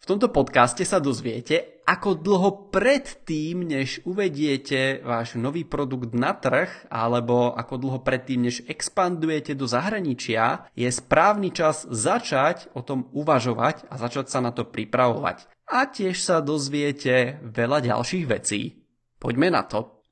V tomto podcaste sa dozviete, ako dlho predtým, než uvediete váš nový produkt na trh, alebo ako dlho predtým, než expandujete do zahraničia, je správny čas začať o tom uvažovať a začať sa na to pripravovať. A tiež sa dozviete veľa ďalších vecí. Poďme na to.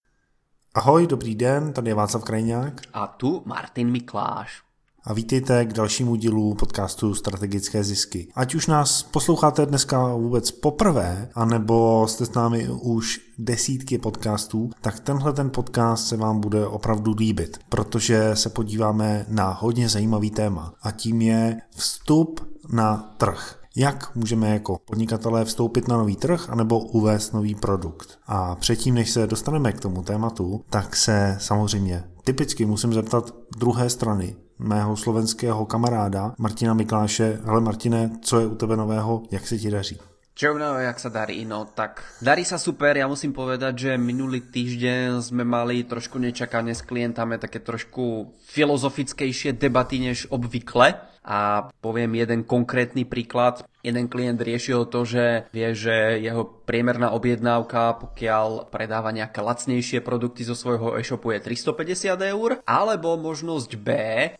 Ahoj, dobrý den, tady je Václav Krajňák. A tu Martin Mikláš. A vítejte k dalšímu dílu podcastu Strategické zisky. Ať už nás posloucháte dneska vůbec poprvé, anebo jste s námi už desítky podcastů, tak tenhle ten podcast se vám bude opravdu líbit, protože se podíváme na hodně zajímavý téma a tím je vstup na trh. Jak můžeme jako podnikatelé vstoupit na nový trh anebo uvést nový produkt. A předtím, než se dostaneme k tomu tématu, tak se samozřejmě typicky musím zeptat druhé strany, mého slovenského kamaráda Martina Mikláše. Hele Martine, co je u tebe nového, jak se ti daří? Čo jak sa darí? No tak darí sa super, ja musím povedať, že minulý týždeň sme mali trošku nečakane s klientami také trošku filozofickejšie debaty než obvykle a poviem jeden konkrétny príklad. Jeden klient riešil to, že vie, že jeho priemerná objednávka, pokiaľ predáva nejaké lacnejšie produkty zo svojho e-shopu, je 350 €, alebo možnosť B,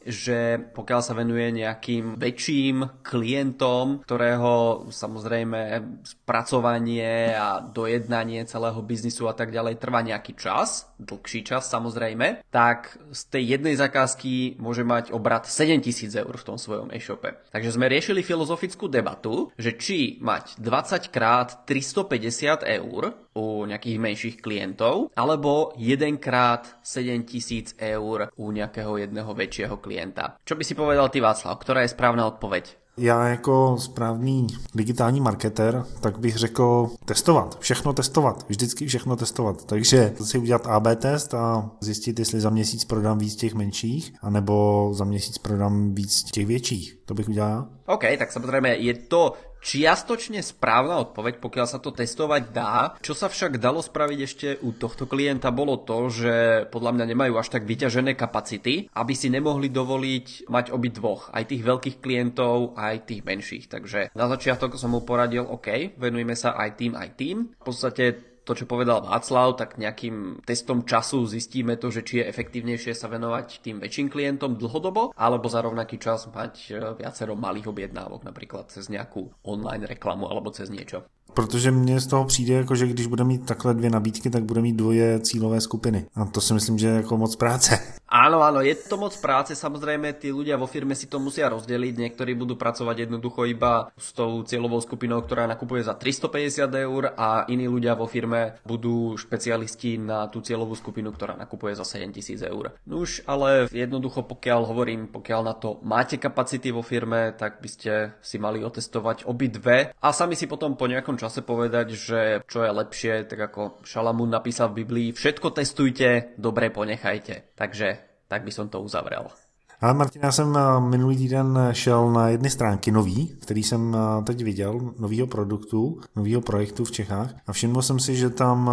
že pokiaľ sa venuje nejakým väčším klientom, ktorého samozrejme spracovanie a dojednanie celého biznisu a tak ďalej trvá nejaký čas, dlhší čas samozrejme, tak z tej jednej zakázky môže mať obrat 7 000 € v tom svojom e-shope. Takže sme riešili filozofickú debatu, že či mať 20 krát 350 € u nejakých menších klientov, alebo 1 krát 7 000 € u nejakého jedného väčšieho klienta. Čo by si povedal ty, Václav? Ktorá je správna odpoveď? Já jako správný digitální marketer, tak bych řekl testovat, všechno testovat, vždycky všechno testovat. Takže si udělat AB test a zjistit, jestli za měsíc prodám víc těch menších, anebo za měsíc prodám víc těch větších. To bych udělal. OK, tak samozrejme je to čiastočne správna odpoveď, pokiaľ sa to testovať dá. Čo sa však dalo spraviť ešte u tohto klienta bolo to, že podľa mňa nemajú až tak vyťažené kapacity, aby si nemohli dovoliť mať obidvoch, aj tých veľkých klientov, aj tých menších. Takže na začiatok som mu poradil, OK, venujme sa aj tým. V podstate to, čo povedal Václav, tak nejakým testom času zistíme to, že či je efektívnejšie sa venovať tým väčším klientom dlhodobo, alebo za rovnaký čas mať viacero malých objednávok, napríklad cez nejakú online reklamu alebo cez niečo. Protože mně z toho přijde, jako, že když bude mít takhle dvě nabídky, tak bude mít dvoje cílové skupiny. A to si myslím, že je jako moc práce. Áno, je to moc práce, samozrejme tí ľudia vo firme si to musia rozdeliť, niektorí budú pracovať jednoducho iba s tou cieľovou skupinou, ktorá nakupuje za 350 € a iní ľudia vo firme budú špecialisti na tú cieľovú skupinu, ktorá nakupuje za 7 000 €. Nuž, ale jednoducho pokiaľ na to máte kapacity vo firme, tak by ste si mali otestovať obidve a sami si potom po nejakom čase povedať, že čo je lepšie, tak ako Šalamún napísal v Biblii, všetko testujte, dobre ponechajte. Takže tak by som to uzavrel. Ale Martin, já jsem minulý týden šel na jedny stránky nový, který jsem teď viděl, novýho produktu, novýho projektu v Čechách a všiml jsem si, že tam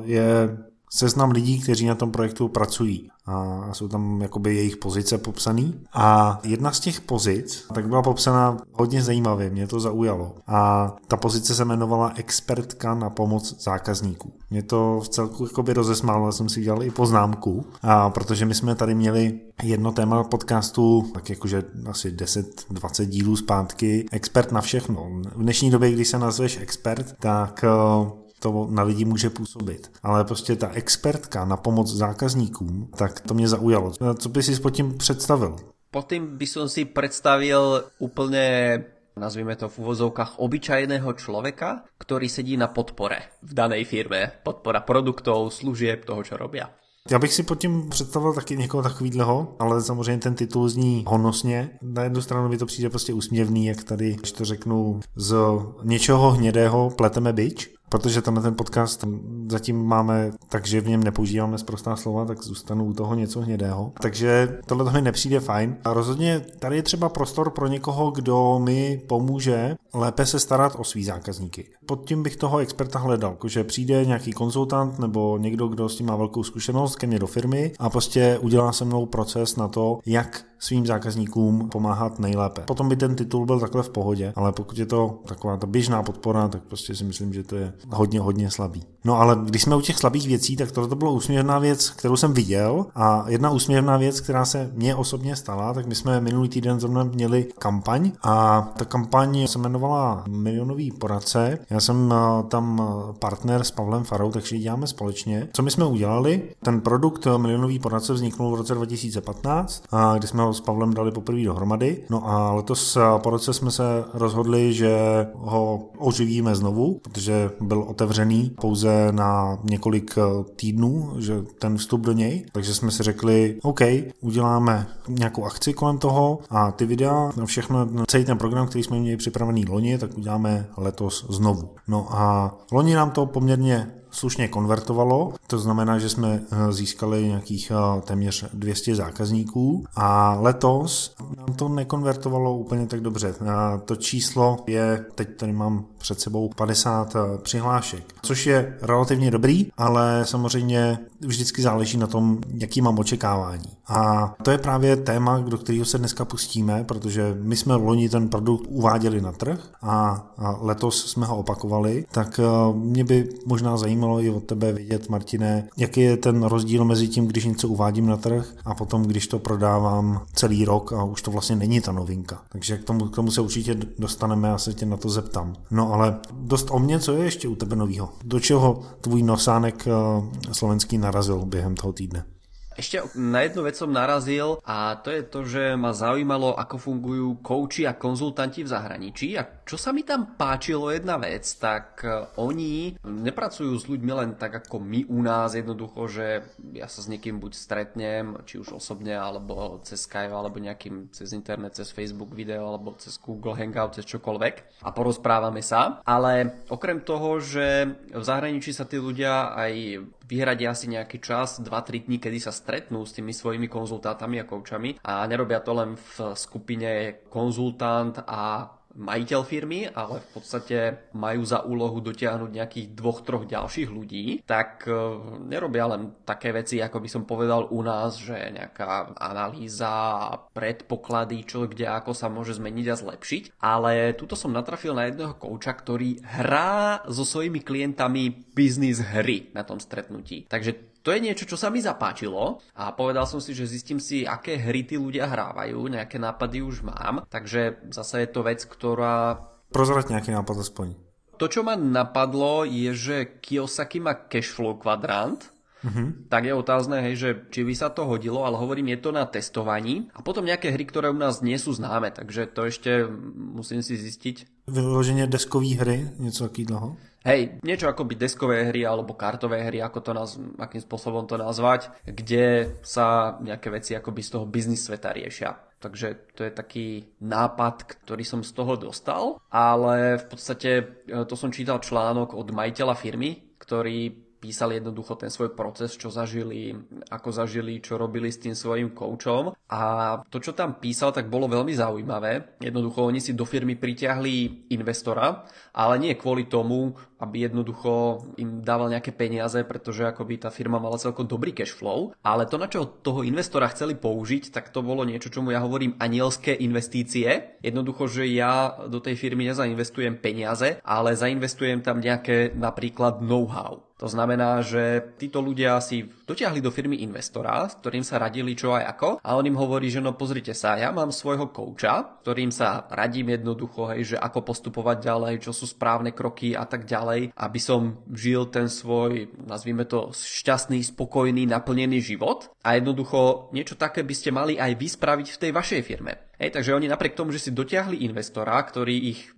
je seznam lidí, kteří na tom projektu pracují a jsou tam jakoby jejich pozice popsaný a jedna z těch pozic tak byla popsaná hodně zajímavě, mě to zaujalo a ta pozice se jmenovala expertka na pomoc zákazníků. Mě to v celku jakoby rozesmálo, já jsem si dělal i poznámku, a protože my jsme tady měli jedno téma podcastu, tak jakože asi 10-20 dílů zpátky, expert na všechno. V dnešní době, když se nazveš expert, tak to na lidi může působit. Ale prostě ta expertka na pomoc zákazníkům, tak to mě zaujalo. Co by si pod tím představil? Pod tým by som si predstavil úplne, nazvime to v uvozovkách, obyčajného človeka, ktorý sedí na podpore v danej firme. Podpora produktov, služieb, toho, čo robia. Já bych si pod tím představil taky někoho takovýhleho, ale samozřejmě ten titul zní honosně. Na jednu stranu mi to přijde prostě úsměvný, jak tady, když to řeknu, z něčeho hnědého pleteme bič. protože ten podcast zatím máme, takže v něm nepoužíváme sprostá slova, tak zůstanu u toho něco hnědého. Takže tohle mi nepřijde fajn. A rozhodně tady je třeba prostor pro někoho, kdo mi pomůže lépe se starat o svý zákazníky. Pod tím bych toho experta hledal, že přijde nějaký konzultant nebo někdo, kdo s tím má velkou zkušenost ke mně do firmy a prostě udělá se mnou proces na to, jak svým zákazníkům pomáhat nejlépe. Potom by ten titul byl takhle v pohodě, ale pokud je to taková ta běžná podpora, tak prostě si myslím, že to je hodně slabý. No ale když jsme u těch slabých věcí, tak tohle to byla úsměvná věc, kterou jsem viděl, a jedna úsměvná věc, která se mně osobně stala, tak my jsme minulý týden zrovna měli kampaň a ta kampaň se jmenovala Milionový poradce. Já jsem tam partner s Pavlem Farou, takže ji děláme společně. Co my jsme udělali? Ten produkt Milionový poradce vzniknul v roce 2015, kdy jsme ho s Pavlem dali poprvé dohromady. No a letos po roce jsme se rozhodli, že ho oživíme znovu, protože byl otevřený pouze na několik týdnů, že ten vstup do něj. Takže jsme si řekli, OK, uděláme nějakou akci kolem toho a ty videa, všechno, celý ten program, který jsme měli připravený loni, tak uděláme letos znovu. No a loni nám to poměrně slušně konvertovalo, to znamená, že jsme získali nějakých téměř 200 zákazníků a letos nám to nekonvertovalo úplně tak dobře. To číslo je, teď tady mám před sebou 50 přihlášek, což je relativně dobrý, ale samozřejmě vždycky záleží na tom, jaký mám očekávání. A to je právě téma, do kterého se dneska pustíme, protože my jsme loni ten produkt uváděli na trh a letos jsme ho opakovali, tak mě by možná zajímalo i od tebe vědět, Martine, jaký je ten rozdíl mezi tím, když něco uvádím na trh a potom, když to prodávám celý rok a už to vlastně není ta novinka. Takže k tomu se určitě dostaneme, já se tě na to zeptám. No ale dost o mě, co je ještě u tebe novýho? Do čeho tvůj nosánek slovenský narazil během toho týdne? Ešte na jednu vec som narazil a to je to, že ma zaujímalo, ako fungujú kouči a konzultanti v zahraničí a čo sa mi tam páčilo jedna vec, tak oni nepracujú s ľuďmi len tak ako my u nás, jednoducho, že ja sa s niekým buď stretnem, či už osobne, alebo cez Skype, alebo nejakým cez internet, cez Facebook video, alebo cez Google Hangout, cez čokoľvek a porozprávame sa, ale okrem toho, že v zahraničí sa tí ľudia aj vyhradia si nejaký čas, 2-3 dní, kedy sa stretnú s tými svojimi konzultátami a koučami a nerobia to len v skupine konzultant a majiteľ firmy, ale v podstate majú za úlohu dotiahnuť nejakých 2-3 ďalších ľudí, tak nerobia len také veci, ako by som povedal u nás, že nejaká analýza a predpoklady, čo kde ako sa môže zmeniť a zlepšiť, ale tuto som natrafil na jedného kouča, ktorý hrá so svojimi klientami biznis hry na tom stretnutí. Takže to je niečo, čo sa mi zapáčilo a povedal som si, že zistím si, aké hry tí ľudia hrávajú, nejaké nápady už mám, takže zase je to vec, ktorá... Prozrať nejaký nápad aspoň. To, čo ma napadlo, je, že Kiyosaki má cashflow kvadrant, tak je otázne, hej, že či by sa to hodilo, ale hovorím, je to na testovaní a potom nejaké hry, ktoré u nás nie sú známe, takže to ešte musím si zistiť. Vyloženě deskový hry, něco takového? Hej, niečo ako by deskové hry alebo kartové hry, akým spôsobom to nazvať, kde sa nejaké veci akoby z toho biznis sveta riešia. Takže to je taký nápad, ktorý som z toho dostal, ale v podstate to som čítal článok od majiteľa firmy, ktorý písali jednoducho ten svoj proces, čo zažili, ako zažili, čo robili s tým svojím koučom. A to, čo tam písal, tak bolo veľmi zaujímavé. Jednoducho oni si do firmy pritiahli investora, ale nie kvôli tomu, aby jednoducho im dával nejaké peniaze, pretože akoby tá firma mala celkom dobrý cash flow, ale to, na čo toho investora chceli použiť, tak to bolo niečo, čomu ja hovorím anielské investície. Jednoducho, že ja do tej firmy nezainvestujem peniaze, ale zainvestujem tam nejaké napríklad know-how. To znamená, že títo ľudia si dotiahli do firmy investora, s ktorým sa radili čo aj ako, a on im hovorí, že no pozrite sa, ja mám svojho kouča, ktorým sa radím jednoducho, hej, že ako postupovať ďalej, čo sú správne kroky a tak ďalej, aby som žil ten svoj, nazvime to, šťastný, spokojný, naplnený život. A jednoducho niečo také by ste mali aj vy spraviť v tej vašej firme. Hej, takže oni napriek tomu, že si dotiahli investora, ktorý ich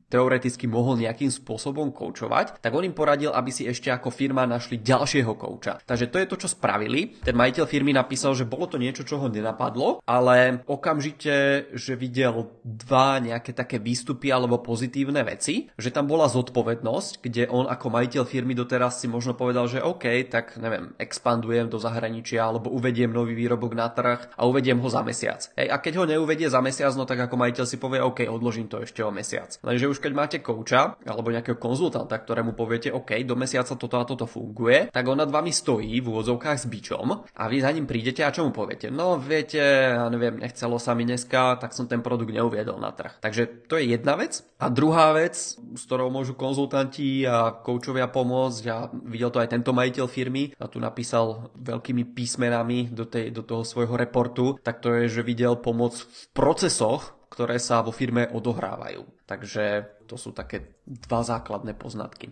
teoreticky mohol nejakým spôsobom koučovať, tak on im poradil, aby si ešte ako firma našli ďalšieho kouča. Takže to je to, čo spravili. Ten majiteľ firmy napísal, že bolo to niečo, čo ho nenapadlo, ale okamžite, že videl dva nejaké také výstupy alebo pozitívne veci, že tam bola zodpovednosť, kde on ako majiteľ firmy doteraz si možno povedal, že OK, tak neviem, expandujem do zahraničia alebo uvediem nový výrobok na trh a uvediem ho za mesiac. Hej, a keď ho neuvedie za mesiac, no tak ako majiteľ si povie OK, odložím to ešte o mesiac. Lenže už keď máte kouča alebo nejakého konzultanta, ktorému poviete OK, do mesiaca toto a toto funguje, tak on nad vami stojí v úvodzovkách s bičom a vy za ním prídete a čo mu poviete? No viete, ja neviem, nechcelo sa mi dneska, tak som ten produkt neuviedol na trh. Takže to je jedna vec. A druhá vec, s ktorou môžu konzultanti a koučovia pomôcť, a videl to aj tento majiteľ firmy, a tu napísal veľkými písmenami do toho svojho reportu, tak to je, že videl pomoc v procesoch, ktoré sa vo firme odohrávajú. Takže to sú také dva základné poznatky.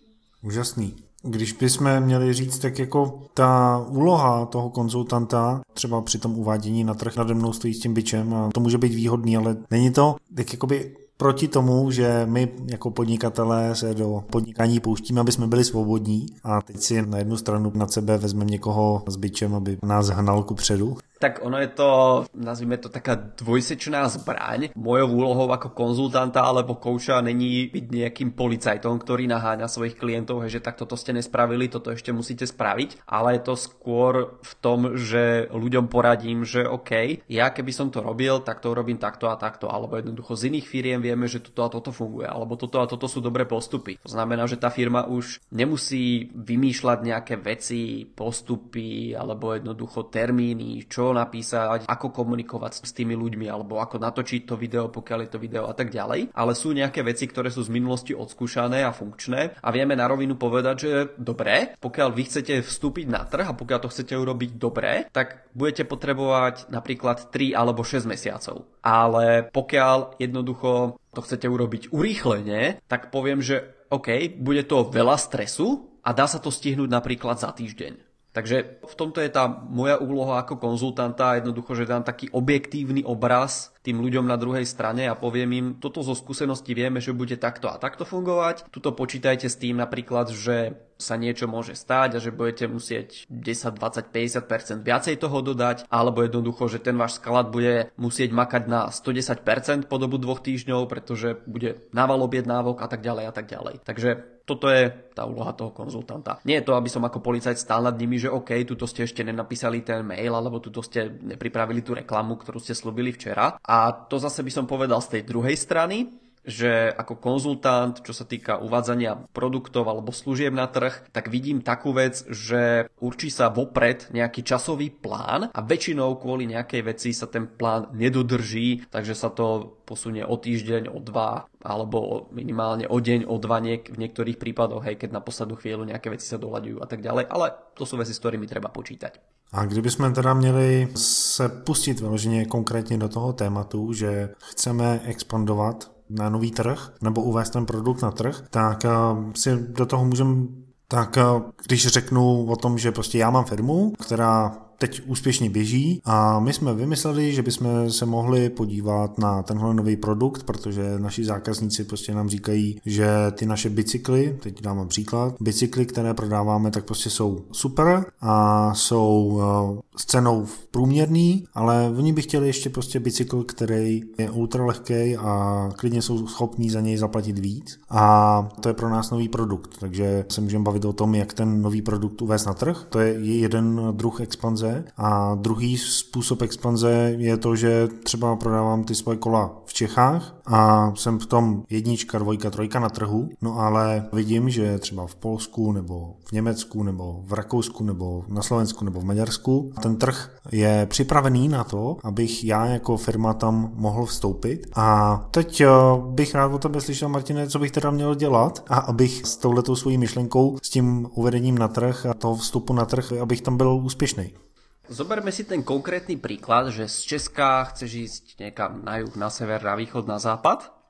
Úžasný. Když bychom měli říct, tak jako ta úloha toho konzultanta, třeba při tom uvádění na trh nade mnou stojí s tím bičem, a to může být výhodný, ale není to tak jakoby proti tomu, že my jako podnikatelé se do podnikání pouštíme, aby jsme byli svobodní, a teď si na jednu stranu nad sebe vezmeme někoho s bičem, aby nás hnal kupředu. Tak ono je to, nazvime to taká dvojsečná zbraň. Mojou úlohou ako konzultanta alebo kouča není byť nejakým policajtom, ktorý naháňa svojich klientov, že tak toto ste nespravili, toto ešte musíte spraviť, ale je to skôr v tom, že ľuďom poradím, že OK, ja keby som to robil, tak to urobím takto a takto, alebo jednoducho z iných firiem vieme, že toto a toto funguje, alebo toto a toto sú dobré postupy. To znamená, že tá firma už nemusí vymýšľať nejaké veci, postupy alebo jednoducho termíny, čo napísať, ako komunikovať s tými ľuďmi alebo ako natočiť to video, pokiaľ je to video a tak ďalej. Ale sú nejaké veci, ktoré sú z minulosti odskúšané a funkčné a vieme na rovinu povedať, že dobre, pokiaľ vy chcete vstúpiť na trh a pokiaľ to chcete urobiť dobre, tak budete potrebovať napríklad 3 alebo 6 mesiacov. Ale pokiaľ jednoducho to chcete urobiť urýchlene, tak poviem, že OK, bude to veľa stresu a dá sa to stihnúť napríklad za týždeň. Takže v tomto je tá moja úloha ako konzultanta, jednoducho, že dám taký objektívny obraz tým ľuďom na druhej strane a poviem im, toto zo skúsenosti vieme, že bude takto a takto fungovať. Tuto počítajte s tým napríklad, že sa niečo môže stáť a že budete musieť 10, 20, 50% viacej toho dodať, alebo jednoducho, že ten váš sklad bude musieť makať na 110% po dobu 2 týždňov, pretože bude nával objednávok a tak ďalej a tak ďalej. Takže toto je tá úloha toho konzultanta. Nie je to, aby som ako policajt stál nad nimi, že OK, tuto ste ešte nenapísali ten mail, alebo tuto ste nepripravili tú reklamu, ktorú ste slúbili včera. A to zase by som povedal z tej druhej strany, že ako konzultant, čo sa týka uvádzania produktov alebo služieb na trh, tak vidím takú vec, že určí sa vopred nejaký časový plán a väčšinou kvôli nejakej veci sa ten plán nedodrží, takže sa to posunie o týždeň, o 2 alebo minimálne o deň, o 2 v niektorých prípadoch, hej, keď na poslednú chvíľu nejaké veci sa doľaďujú a tak ďalej, ale to sú veci, s ktorými treba počítať. A kdybychom teda měli se pustit vyloženě konkrétně do toho tématu, že chceme expandovat na nový trh nebo uvést ten produkt na trh, tak si do toho můžeme, tak když řeknu o tom, že prostě já mám firmu, která teď úspěšně běží a my jsme vymysleli, že bychom se mohli podívat na tenhle nový produkt, protože naši zákazníci prostě nám říkají, že ty naše bicykly, teď dám příklad, bicykly, které prodáváme, tak prostě jsou super a jsou s cenou průměrný, ale oni by chtěli ještě prostě bicykl, který je ultralehký a klidně jsou schopní za něj zaplatit víc a to je pro nás nový produkt, takže se můžeme bavit o tom, jak ten nový produkt uvést na trh, to je jeden druh expanze. A druhý způsob expanze je to, že třeba prodávám ty svoje kola v Čechách a jsem v tom 1, 2, 3 na trhu, no ale vidím, že třeba v Polsku nebo v Německu nebo v Rakousku nebo na Slovensku nebo v Maďarsku ten trh je připravený na to, abych já jako firma tam mohl vstoupit. A teď bych rád o tebe slyšel, Martine, co bych teda měl dělat a abych s touhletou svojí myšlenkou, s tím uvedením na trh a toho vstupu na trh, abych tam byl úspěšný. Zoberme si ten konkrétny príklad, že z Česka chceš ísť niekam na juh, na sever, na východ, na západ.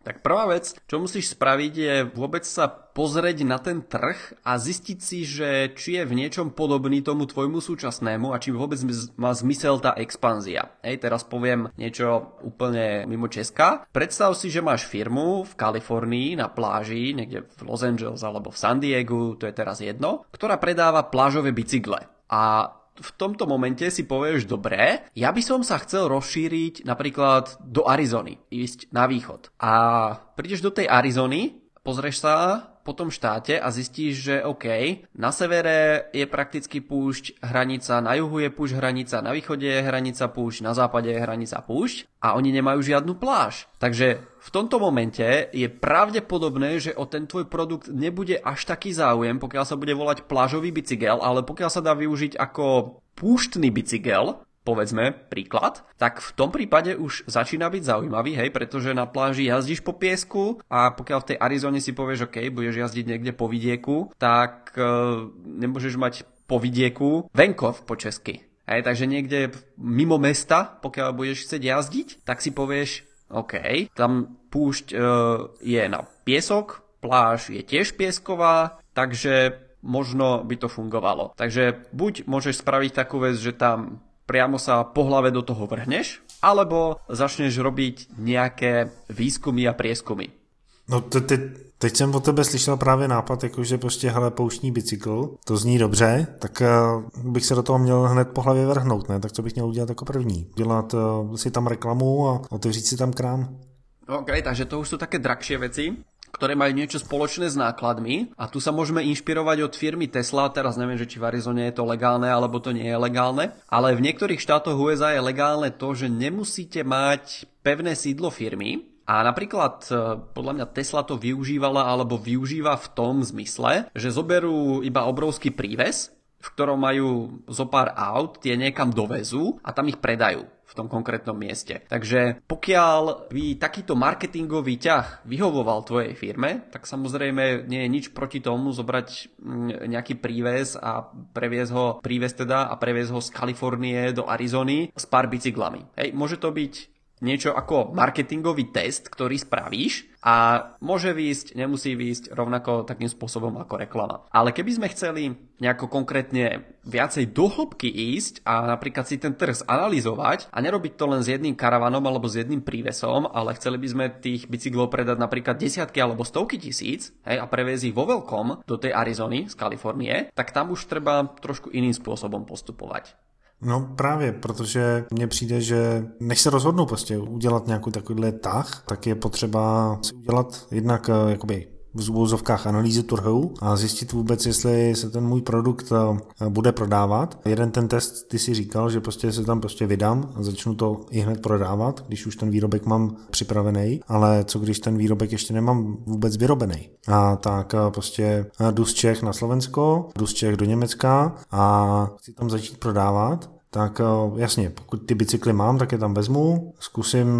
Tak prvá vec, čo musíš spraviť, je vôbec sa pozrieť na ten trh a zistiť si, že či je v niečom podobný tomu tvojmu súčasnému a či vôbec má zmysel tá expanzia. Teraz poviem niečo úplne mimo Česka. Predstav si, že máš firmu v Kalifornii na pláži, niekde v Los Angeles alebo v San Diegu, to je teraz jedno, ktorá predáva plážové bicykle. A v tomto momente si povieš, dobre, ja by som sa chcel rozšíriť napríklad do Arizony, ísť na východ. A prídeš do tej Arizony, pozrieš sa po tom štáte a zistíš, že OK, na severe je prakticky púšť, hranica, na juhu je púšť, hranica, na východe je hranica, púšť, na západe je hranica, púšť a oni nemajú žiadnu pláž. Takže v tomto momente je pravdepodobné, že o ten tvoj produkt nebude až taký záujem, pokiaľ sa bude volať plážový bicykel, ale pokiaľ sa dá využiť ako púštny bicykel, povedzme príklad, tak v tom prípade už začína byť zaujímavý, hej, pretože na pláži jazdíš po piesku a pokiaľ v tej Arizone si povieš, OK, budeš jazdiť niekde po vidieku, tak nemôžeš mať po vidieku venkov po česky. Hej, takže niekde mimo mesta, pokiaľ budeš chcieť jazdiť, tak si povieš, OK, tam púšť je na piesok, pláž je tiež piesková, takže možno by to fungovalo. Takže buď môžeš spraviť takú vec, že tam priamo sa po hlave do toho vrhneš, alebo začneš robiť nejaké výzkumy a prieskumy. No teď jsem od tebe slyšel právě nápad, jakože prostě hele, pouštní bicykl, to zní dobře, tak bych se do toho měl hned po hlavě vrhnout, ne? Tak co bych měl udělat jako první? Dělat si tam reklamu a otevřít si tam krám? OK, takže to už sú také drahšie veci, ktoré majú niečo spoločné s nákladmi a tu sa môžeme inšpirovať od firmy Tesla, teraz neviem, že či v Arizone je to legálne alebo to nie je legálne, ale v niektorých štátoch USA je legálne to, že nemusíte mať pevné sídlo firmy a napríklad podľa mňa Tesla to využívala alebo využíva v tom zmysle, že zoberú iba obrovský príves, v ktorom majú zo pár aut, tie niekam dovezú a tam ich predajú v tom konkrétnom mieste. Takže pokiaľ by takýto marketingový ťah vyhovoval tvojej firme, tak samozrejme nie je nič proti tomu zobrať nejaký príves a previesť ho z Kalifornie do Arizony s pár bicyklami. Hej, môže to byť niečo ako marketingový test, ktorý spravíš a môže výjsť, nemusí výjsť rovnako takým spôsobom ako reklama. Ale keby sme chceli nejako konkrétne viacej do hĺbky ísť a napríklad si ten trh zanalyzovať a nerobiť to len s jedným karavanom alebo s jedným prívesom, ale chceli by sme tých bicyklov predať napríklad desiatky alebo stovky tisíc, hej, a previesť ich vo veľkom do tej Arizony z Kalifornie, tak tam už treba trošku iným spôsobom postupovať. No právě, protože mně přijde, že než se rozhodnu prostě udělat nějaký takovýhle tah, tak je potřeba si udělat jednak jakoby v úvozovkách analýzy trhu a zjistit vůbec, jestli se ten můj produkt bude prodávat. Jeden ten test, ty si říkal, že prostě se tam prostě vydám a začnu to i hned prodávat, když už ten výrobek mám připravený, ale co když ten výrobek ještě nemám vůbec vyrobený. A tak prostě jdu z Čech na Slovensko, jdu z Čech do Německa a chci tam začít prodávat. Tak jasně, pokud ty bicykly mám, tak je tam vezmu, zkusím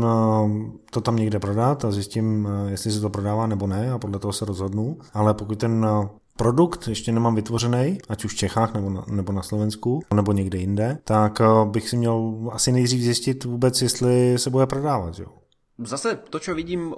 to tam někde prodat a zjistím, jestli se to prodává nebo ne a podle toho se rozhodnu. Ale pokud ten produkt ještě nemám vytvořený, ať už v Čechách nebo na Slovensku, nebo někde jinde, tak bych si měl asi nejdřív zjistit vůbec, jestli se bude prodávat. Jo. Zase to, čo vidím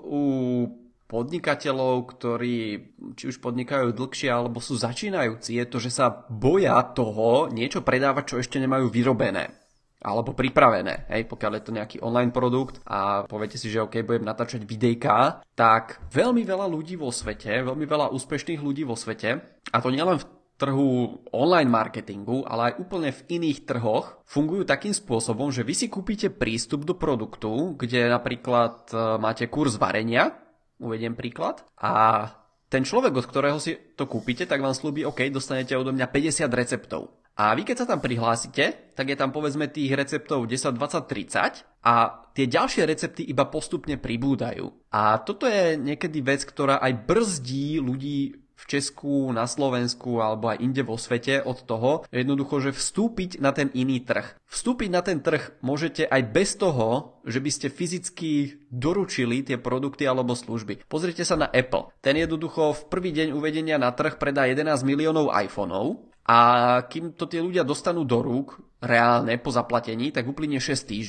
u podnikateľov, ktorí či už podnikajú dlhšie alebo sú začínajúci, je to, že sa boja toho niečo predávať, čo ešte nemajú vyrobené alebo pripravené. Hej, pokiaľ je to nejaký online produkt a poviete si, že OK, budem natáčať videjka, tak veľmi veľa ľudí vo svete, veľmi veľa úspešných ľudí vo svete, a to nielen v trhu online marketingu, ale aj úplne v iných trhoch, fungujú takým spôsobom, že vy si kúpite prístup do produktu, kde napríklad máte kurz varenia, uvediem príklad, a ten človek, od ktorého si to kúpite, tak vám slúbi, OK, dostanete odo mňa 50 receptov. A vy keď sa tam prihlásite, tak je tam povedzme tých receptov 10, 20, 30 a tie ďalšie recepty iba postupne pribúdajú. A toto je niekedy vec, ktorá aj brzdí ľudí v Česku, na Slovensku alebo aj inde vo svete od toho, jednoducho, že vstúpiť na ten iný trh. Vstúpiť na ten trh môžete aj bez toho, že by ste fyzicky doručili tie produkty alebo služby. Pozrite sa na Apple. Ten jednoducho v prvý deň uvedenia na trh predá 11 miliónov iPhoneov a kým to tie ľudia dostanú do rúk reálne po zaplatení, tak uplynie 6 týždňov.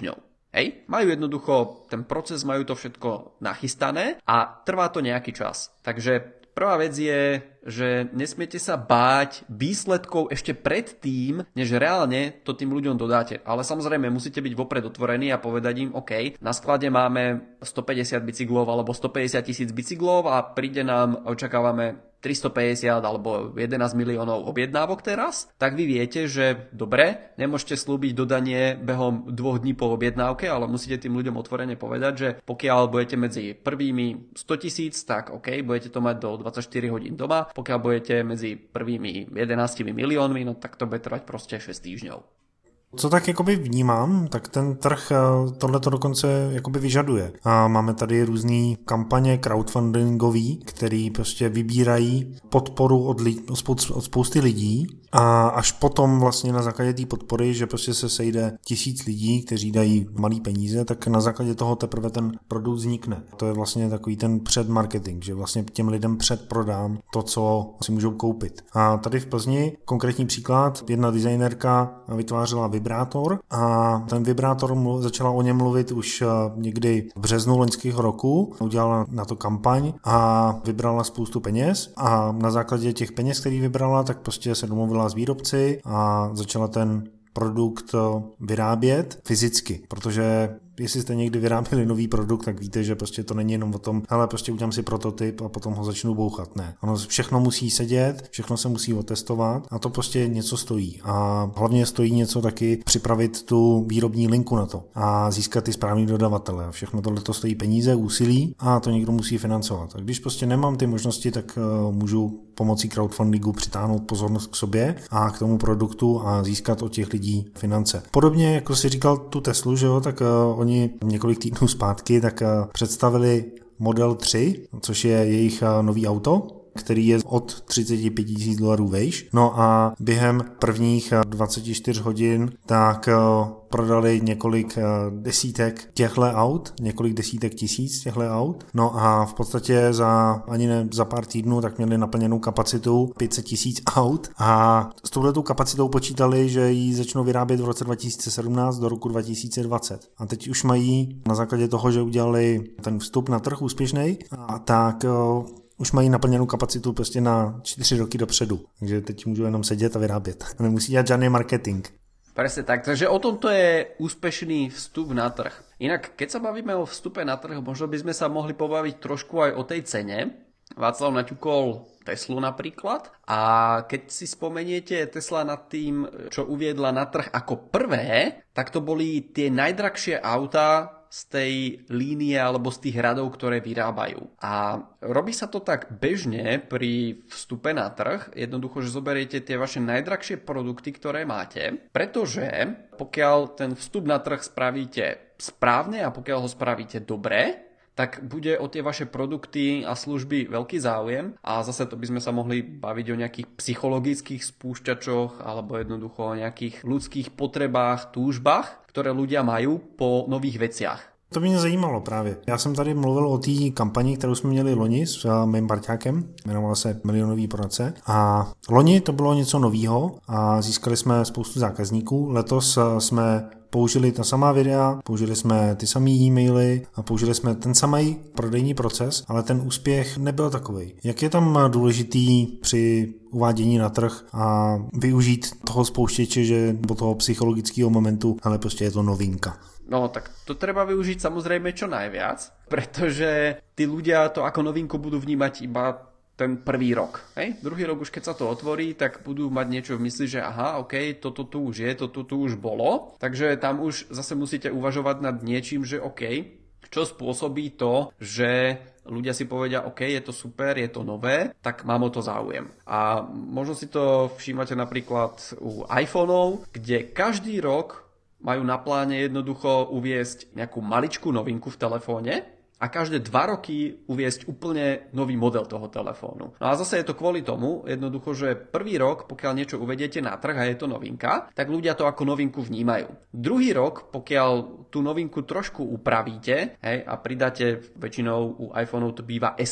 Hej, majú jednoducho ten proces, majú to všetko nachystané a trvá to nejaký čas. Takže prvá vec je, že nesmiete sa báť výsledkov ešte predtým, než reálne to tým ľuďom dodáte. Ale samozrejme musíte byť vopred otvorení a povedať im, OK, na sklade máme 150 bicyklov alebo 150 000 bicyklov a príde nám, očakávame 350 alebo 11 miliónov objednávok teraz, tak vy viete, že dobre, nemôžete slúbiť dodanie behom 2 dní po objednávke, ale musíte tým ľuďom otvorene povedať, že pokiaľ budete medzi prvými 100 000, tak OK, budete to mať do 24 hodín doma, pokiaľ budete medzi prvými 11 miliónmi, no tak to bude trvať proste 6 týždňov. Co tak jakoby vnímám, tak ten trh tohleto dokonce jakoby vyžaduje. A máme tady různé kampaně crowdfundingový, který prostě vybírají podporu od spousty lidí a až potom vlastně na základě té podpory, že prostě se sejde 1000 lidí, kteří dají malý peníze, tak na základě toho teprve ten produkt vznikne. To je vlastně takový ten předmarketing, že vlastně těm lidem předprodám to, co si můžou koupit. A tady v Plzni konkrétní příklad, jedna designérka vytvářela vibrátor a ten vibrátor začala o něm mluvit už někdy v březnu loňského roku, udělala na to kampaň a vybrala spoustu peněz a na základě těch peněz, který vybrala, tak prostě se domluvila s výrobci a začala ten produkt vyrábět fyzicky, protože jestli jste někdy vyráběli nový produkt, tak víte, že prostě to není jenom o tom, hele, prostě udělám si prototyp a potom ho začnu bouchat. Ne. Ono všechno musí sedět, všechno se musí otestovat a to prostě něco stojí. A hlavně stojí něco taky připravit tu výrobní linku na to a získat ty správný dodavatele. Všechno tohle to stojí peníze, úsilí a to někdo musí financovat. A když prostě nemám ty možnosti, tak můžu pomocí crowdfundingu přitáhnout pozornost k sobě a k tomu produktu a získat od těch lidí finance. Podobně, jako si říkal tu Teslu, že jo, tak oni několik týdnů zpátky tak představili Model 3, což je jejich nový auto, který je od $35,000 vejš. No a během prvních 24 hodin tak prodali několik desítek těchto aut, několik desítek tisíc těchto aut. No a v podstatě za pár týdnů tak měli naplněnou kapacitu 500 000 aut a s touhletou kapacitou počítali, že ji začnou vyrábět v roce 2017 do roku 2020. A teď už mají na základě toho, že udělali ten vstup na trh úspěšnej, a tak už mají naplněnou kapacitu prostě na 4 roky dopředu. Takže teď můžu jenom sedět a vyrábět. Nemusí dělat žádný marketing. Presne tak, takže o tomto je úspešný vstup na trh. Inak, keď sa bavíme o vstupe na trh, možno by sme sa mohli pobaviť trošku aj o tej cene. Václav naťukol Teslu napríklad a keď si spomeniete, Tesla nad tým, čo uviedla na trh ako prvé, tak to boli tie najdrahšie autá z tej línie alebo z tých radov, ktoré vyrábajú. A robí sa to tak bežne pri vstupe na trh, jednoducho, že zoberiete tie vaše najdrahšie produkty, ktoré máte, pretože pokiaľ ten vstup na trh spravíte správne a pokiaľ ho spravíte dobre, tak bude o tie vaše produkty a služby veľký záujem a zase to by sme sa mohli baviť o nejakých psychologických spúšťačoch alebo jednoducho o nejakých ľudských potrebách, túžbách, ktoré ľudia majú po nových veciach. To mě zajímalo právě. Já jsem tady mluvil o té kampani, kterou jsme měli loni s mým parťákem, jmenovala se Milionový poradce. A loni to bylo něco novýho a získali jsme spoustu zákazníků. Letos jsme použili ta samá videa, použili jsme ty samé e-maily a použili jsme ten samý prodejní proces, ale ten úspěch nebyl takovej. Jak je tam důležitý při uvádění na trh a využít toho spouštěče, že do toho psychologického momentu, ale prostě je to novinka. No, tak to treba využiť samozrejme čo najviac, pretože tí ľudia to ako novinku budú vnímať iba ten prvý rok. Hej? Druhý rok už keď sa to otvorí, tak budú mať niečo v mysli, že aha, ok, toto tu už je, toto tu už bolo. Takže tam už zase musíte uvažovať nad niečím, že ok, čo spôsobí to, že ľudia si povedia, ok, je to super, je to nové, tak mám o to záujem. A možno si to všímate napríklad u iPhoneov, kde každý rok majú na pláne jednoducho uviesť nejakú maličkú novinku v telefóne a každé 2 roky uviesť úplne nový model toho telefónu. No a zase je to kvôli tomu, jednoducho, že prvý rok, pokiaľ niečo uvediete na trh a je to novinka, tak ľudia to ako novinku vnímajú. Druhý rok, pokiaľ tú novinku trošku upravíte, hej, a pridáte, väčšinou u iPhoneov to býva S-ko,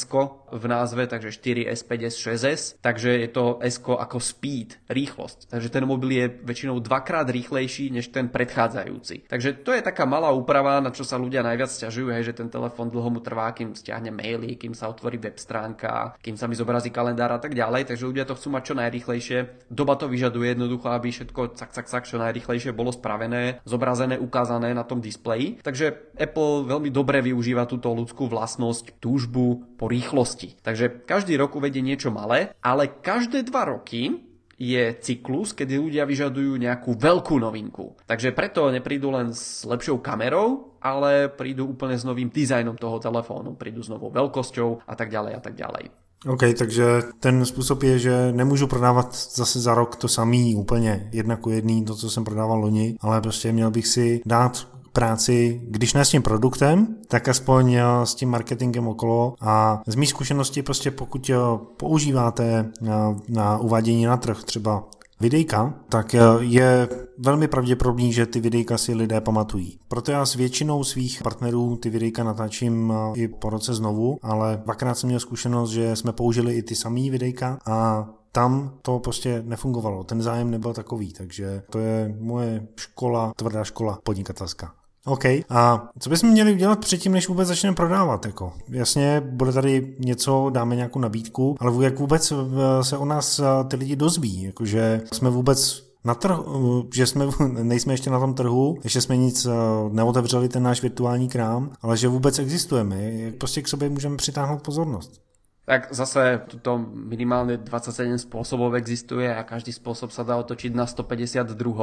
v názve, takže 4S, 5S, 6S, takže je to S ako speed, rýchlosť. Takže ten mobil je väčšinou dvakrát rýchlejší než ten predchádzajúci. Takže to je taká malá úprava, na čo sa ľudia najviac sťažujú, hej, že ten telefón dlho mu trvá, kým stiahne maily, kým sa otvorí web stránka, kým sa mi zobrazí kalendár a tak ďalej, takže ľudia to chcú mať čo najrýchlejšie. Doba to vyžaduje jednoducho, aby všetko cak čo najrýchlejšie bolo spravené, zobrazené, ukázané na tom displeji. Takže Apple veľmi dobre využíva túto ľudskú vlastnosť, túžbu po rýchlosti. Takže každý rok uvedie niečo malé, ale každé 2 roky je cyklus, kedy ľudia vyžadujú nejakú veľkú novinku. Takže preto neprídu len s lepšou kamerou, ale prídu úplne s novým dizajnom toho telefónu, prídu s novou veľkosťou a tak ďalej a tak ďalej. OK, takže ten způsob je, že nemůžu prodávat zase za rok to samý úplně 1:1, to, co jsem prodával loni, ale prostě měl bych si dát práci, když ne s tím produktem, tak aspoň s tím marketingem okolo. A z mých zkušeností prostě pokud používáte na uvádění na trh třeba videjka, tak je velmi pravděpodobný, že ty videjka si lidé pamatují. Proto já s většinou svých partnerů ty videjka natáčím i po roce znovu, ale 2krát jsem měl zkušenost, že jsme použili i ty samý videjka a tam to prostě nefungovalo. Ten zájem nebyl takový, takže to je moje škola, tvrdá škola podnikatelská. OK, a co bychom měli udělat předtím, než vůbec začneme prodávat? Jako, jasně, bude tady něco, dáme nějakou nabídku, ale jak vůbec se o nás ty lidi dozví? Jakože jsme vůbec na trhu, že nejsme ještě na tom trhu, ještě jsme nic neotevřeli, ten náš virtuální krám, ale že vůbec existujeme, jak prostě k sobě můžeme přitáhnout pozornost. Tak zase tuto minimálne 27 spôsobov existuje a každý spôsob sa dá otočiť na 152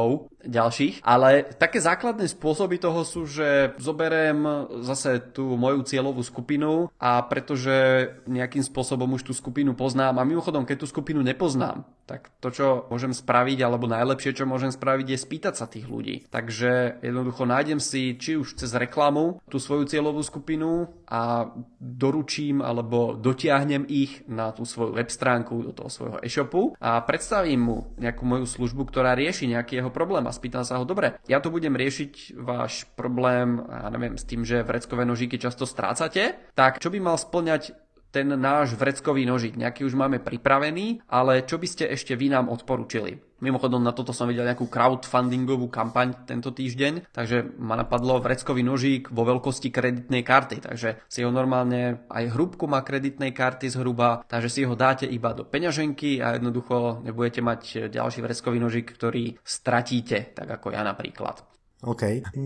ďalších. Ale také základné spôsoby toho sú, že zoberiem zase tú moju cieľovú skupinu a pretože nejakým spôsobom už tú skupinu poznám a mimochodom, keď tú skupinu nepoznám, tak to, čo môžem spraviť, alebo najlepšie, čo môžem spraviť, je spýtať sa tých ľudí. Takže jednoducho nájdem si, či už cez reklamu, tú svoju cieľovú skupinu a doručím alebo dotiahnem ich na tú svoju web stránku, do toho svojho e-shopu a predstavím mu nejakú moju službu, ktorá rieši nejaký jeho problém a spýtam sa ho, dobre, ja tu budem riešiť váš problém, ja neviem, s tým, že vreckové nožíky často strácate, tak čo by mal spĺňať ten náš vreckový nožík? Nejaký už máme pripravený, ale čo by ste ešte vy nám odporučili? Mimochodom, na toto som videl nejakú crowdfundingovú kampaň tento týždeň, takže ma napadlo vreckový nožík vo veľkosti kreditnej karty, takže si ho normálne, aj hrúbku má kreditnej karty zhruba, takže si ho dáte iba do peňaženky a jednoducho nebudete mať ďalší vreckový nožík, ktorý stratíte, tak ako ja napríklad. OK.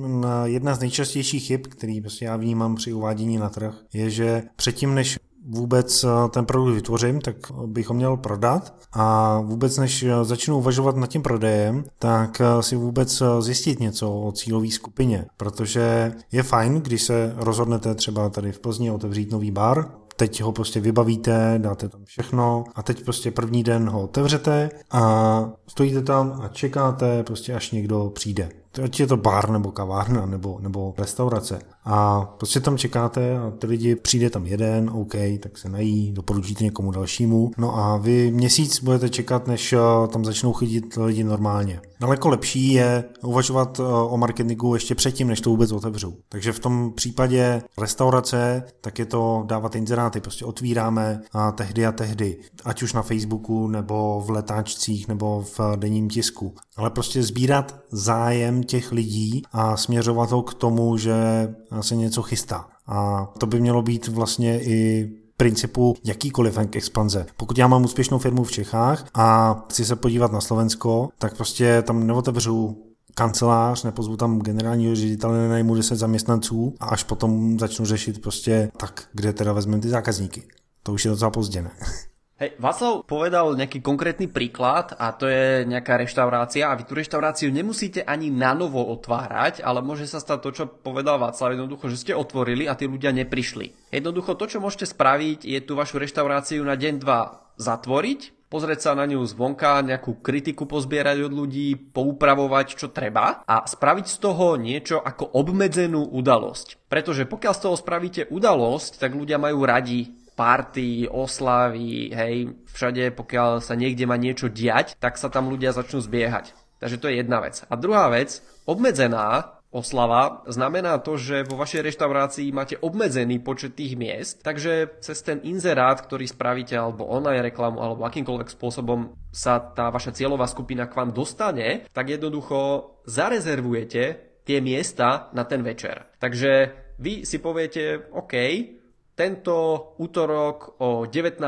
Jedna z nejčastějších chyb, který prostě já vnímám při uvádění na trh, je, že předtím, než vůbec ten produkt vytvořím, tak bych ho měl prodat a vůbec než začnu uvažovat nad tím prodejem, tak si vůbec zjistit něco o cílové skupině, protože je fajn, když se rozhodnete třeba tady v Plzni otevřít nový bar, teď ho prostě vybavíte, dáte tam všechno a teď prostě první den ho otevřete a stojíte tam a čekáte prostě až někdo přijde. Ať je to bar nebo kavárna nebo restaurace. A prostě tam čekáte a ty lidi, přijde tam jeden, OK, tak se nají, doporučíte někomu dalšímu. No a vy měsíc budete čekat, než tam začnou chodit lidi normálně. Daleko lepší je uvažovat o marketingu ještě předtím, než to vůbec otevřou. Takže v tom případě restaurace, tak je to dávat inzeráty, prostě otvíráme a tehdy, ať už na Facebooku nebo v letáčcích nebo v denním tisku. Ale prostě sbírat zájem těch lidí a směřovat ho k tomu, že se něco chystá. A to by mělo být vlastně i principu jakýkoliv expanze. Pokud já mám úspěšnou firmu v Čechách a chci se podívat na Slovensko, tak prostě tam neotevřu kancelář, nepozvu tam generálního ředitele, nenajmu 10 zaměstnanců a až potom začnu řešit prostě tak, kde teda vezmeme ty zákazníky. To už je docela pozdě, ne? Hej, Václav povedal nejaký konkrétny príklad a to je nejaká reštaurácia a vy tú reštauráciu nemusíte ani na novo otvárať, ale môže sa stať to, čo povedal Václav, jednoducho, že ste otvorili a tí ľudia neprišli. Jednoducho to, čo môžete spraviť, je tú vašu reštauráciu na deň 2 zatvoriť, pozrieť sa na ňu zvonka, nejakú kritiku pozbierať od ľudí, poupravovať, čo treba a spraviť z toho niečo ako obmedzenú udalosť. Pretože pokiaľ z toho spravíte udalosť, tak ľudia majú radi party, oslavy, hej, všade, pokiaľ sa niekde má niečo diať, tak sa tam ľudia začnú zbiehať. Takže to je jedna vec. A druhá vec, obmedzená oslava, znamená to, že vo vašej reštaurácii máte obmedzený počet tých miest, takže cez ten inzerát, ktorý spravíte, alebo online reklamu, alebo akýmkoľvek spôsobom sa tá vaša cieľová skupina k vám dostane, tak jednoducho zarezervujete tie miesta na ten večer. Takže vy si poviete, OK, tento útorok o 19:00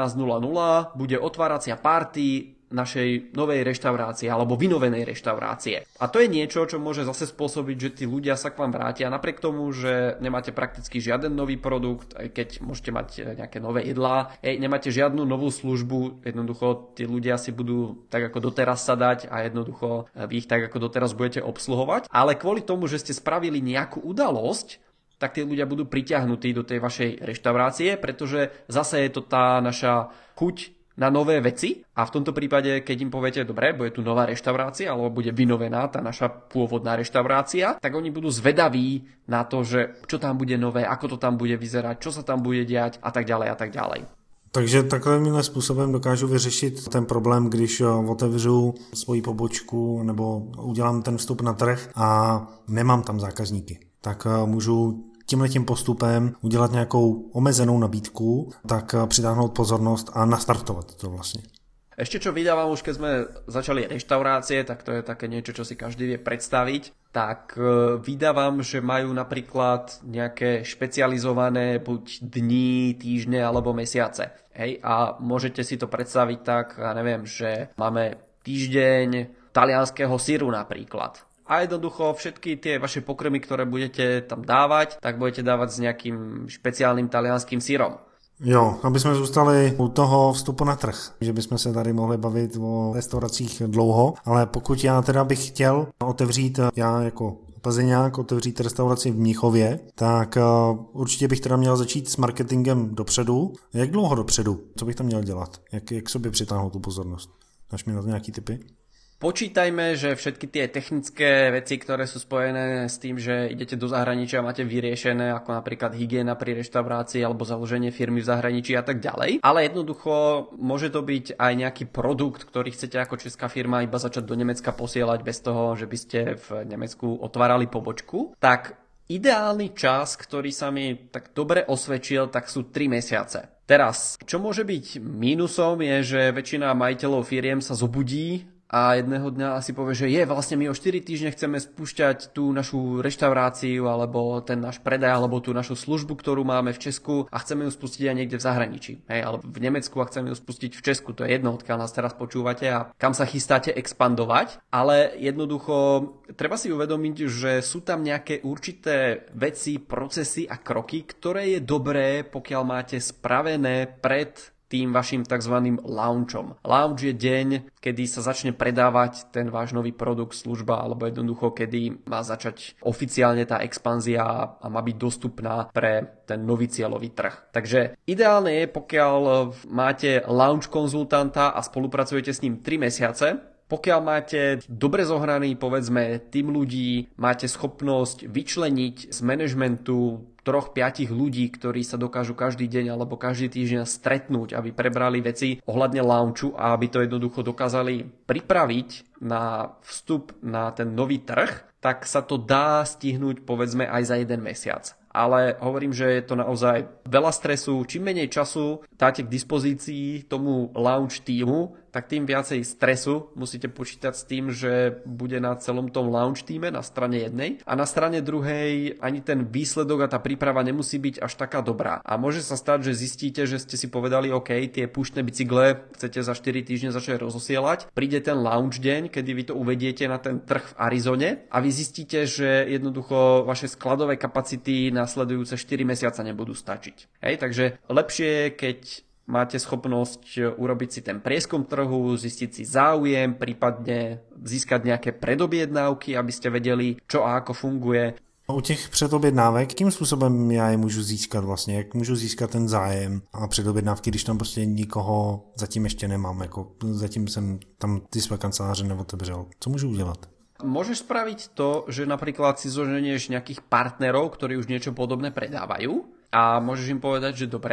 bude otváracia party našej novej reštaurácie alebo vynovenej reštaurácie. A to je niečo, čo môže zase spôsobiť, že tí ľudia sa k vám vrátia napriek tomu, že nemáte prakticky žiaden nový produkt, aj keď môžete mať nejaké nové jedlá, nemáte žiadnu novú službu, jednoducho tí ľudia si budú tak ako doteraz sadať a jednoducho vy ich tak ako doteraz budete obsluhovať, ale kvôli tomu, že ste spravili nejakú udalosť, tak tí ľudia budú priťahnutí do tej vašej reštaurácie, pretože zase je to tá naša chuť na nové veci a v tomto prípade, keď im poviete, dobre, bude tu nová reštaurácia alebo bude vynovená tá naša pôvodná reštaurácia, tak oni budú zvedaví na to, že čo tam bude nové, ako to tam bude vyzerať, čo sa tam bude diať a tak ďalej a tak ďalej. Takže takovýmhle způsobem dokážu vyřešit ten problém, když otevřu svoji pobočku nebo udělám ten vstup na trh a nemám tam zákazníky. Tak můžu tímhletím postupem udělat nějakou omezenou nabídku, tak přitáhnout pozornost a nastartovat to vlastne. Ešte čo vydávam už keď sme začali reštaurácie, tak to je také niečo, čo si každý vie predstaviť, tak vydávam, že majú napríklad nejaké špecializované buď dni, týždne alebo mesiace. Hej? A môžete si to predstaviť tak, ja neviem, že máme týždeň talianskeho syru napríklad. A jednoducho všetky tie vaše pokrmy, ktoré budete tam dávať, tak budete dávať s nejakým špeciálnym talianským syrom. Jo, aby jsme zůstali u toho vstupu na trh, že bychom se tady mohli bavit o restauracích dlouho, ale pokud já teda bych chtěl otevřít, já jako Plzeňák otevřít restauraci v Mnichově, tak určitě bych teda měl začít s marketingem dopředu. Jak dlouho dopředu? Co bych tam měl dělat? Jak sobě přitáhnout tu pozornost? Máš mi na to nějaký tipy? Počítajme, že všetky tie technické veci, ktoré sú spojené s tým, že idete do zahraničia a máte vyriešené, ako napríklad hygiena pri reštaurácii alebo založenie firmy v zahraničí a tak ďalej. Ale jednoducho môže to byť aj nejaký produkt, ktorý chcete ako česká firma iba začať do Nemecka posielať bez toho, že by ste v Nemecku otvárali pobočku. Tak ideálny čas, ktorý sa mi tak dobre osvedčil, tak sú 3 mesiace. Teraz, čo môže byť mínusom je, že väčšina majiteľov firiem sa zobudí a jedného dňa asi povie, že vlastne my o 4 týždne chceme spúšťať tú našu reštauráciu alebo ten náš predaj alebo tú našu službu, ktorú máme v Česku a chceme ju spustiť aj niekde v zahraničí. Alebo v Nemecku a chceme ju spustiť v Česku. To je jedno, odkiaľ nás teraz počúvate a kam sa chystáte expandovať. Ale jednoducho treba si uvedomiť, že sú tam nejaké určité veci, procesy a kroky, ktoré je dobré, pokiaľ máte spravené pred tým vašim tzv. Launchom. Launch je deň, kedy sa začne predávať ten váš nový produkt, služba, alebo jednoducho, kedy má začať oficiálne tá expanzia a má byť dostupná pre ten nový cieľový trh. Takže ideálne je, pokiaľ máte launch konzultanta a spolupracujete s ním 3 mesiace, pokiaľ máte dobre zohraný, povedzme, tým ľudí, máte schopnosť vyčleniť z manažmentu 3-5 ľudí, ktorí sa dokážu každý deň alebo každý týždeň stretnúť, aby prebrali veci ohľadne launchu a aby to jednoducho dokázali pripraviť na vstup na ten nový trh, tak sa to dá stihnúť povedzme aj za 1 mesiac. Ale hovorím, že je to naozaj veľa stresu. Čím menej času dáte k dispozícii tomu launch týmu, tak tým viacej stresu musíte počítať s tým, že bude na celom tom launch týme na strane jednej a na strane druhej ani ten výsledok a tá príprava nemusí byť až taká dobrá. A môže sa stať, že zistíte, že ste si povedali, OK, tie púštne bicykle chcete za 4 týždne začať rozosielať. Príde ten launch deň, kedy vy to uvediete na ten trh v Arizone a vy zistíte, že jednoducho vaše skladové kapacity nasledujúce 4 mesiace nebudú stačiť. Hej, takže lepšie je, keď máte schopnosť urobiť si ten prieskum trhu, zistiť si záujem, prípadne získať nejaké predobjednávky, aby ste vedeli, čo a ako funguje. U těch předobjednávek, jakým způsobem já je můžu získat vlastně? Jak můžu získat ten zájem a předobjednávky, když tam prostě nikoho zatím ještě nemám? Jako zatím jsem tam ty své kanceláře neotevřel. Co můžu udělat? Môžeš spraviť to, že napríklad si zoženieš nejakých partnerov, ktorí už niečo podobné predávajú a môžeš im povedať, že dobre,